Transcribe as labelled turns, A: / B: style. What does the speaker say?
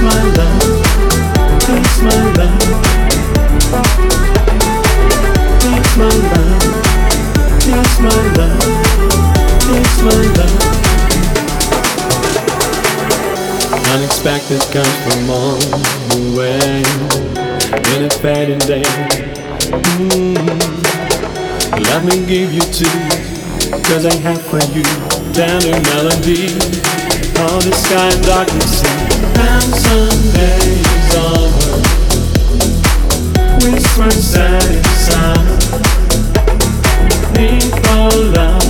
A: my love, taste my love, taste my love, taste my love, taste my love. Unexpected comes from on the way, in a fading day. Let me give you two, 'cause I have for you tender melody. All the sky and darkness and Sunday's over. Whisper sad sound, need for love.